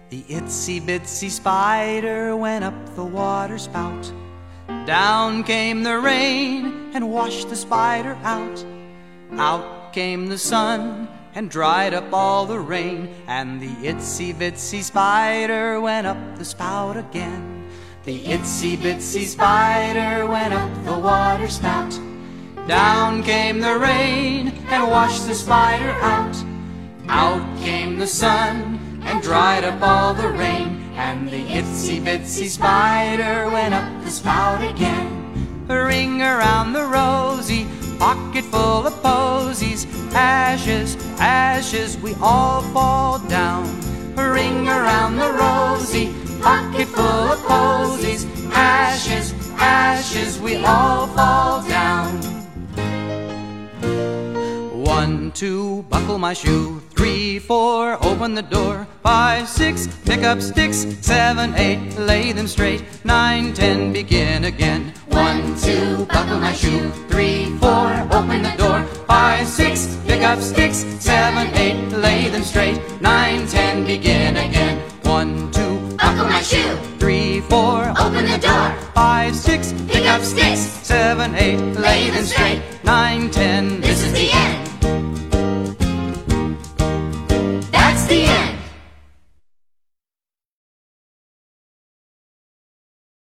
The itsy bitsy spider went up the water spout. Down came the rain and washed the spider out. Out came the sun and dried up all the rain, and the itsy bitsy spider went up the spout again. The itsy bitsy spider went up the water spout. Down came the rain and washed the spider out. Out came the sun and dried up all the rain, and the itsy bitsy spider went up the spout again. A ring around the rosy, pocket full of posies. Ashes, ashes, we all fall down. A ring around the rosy, pocket full of posies. Ashes, ashes, we all fall down. 1, 2, buckle my shoe. 3, 4, open the door. 5, 6, pick up sticks. 7, 8, lay them straight. 9, 10, begin again. 1, 2, buckle my shoe. 3, 4, open the door. 5, 6, pick up sticks. 7, 8, lay them straight. 9, 10, begin again. 1, 2, buckle my shoe. 3, 4, open the door. 5, 6, pick up sticks. 7, 8, lay them straight. 9, 10,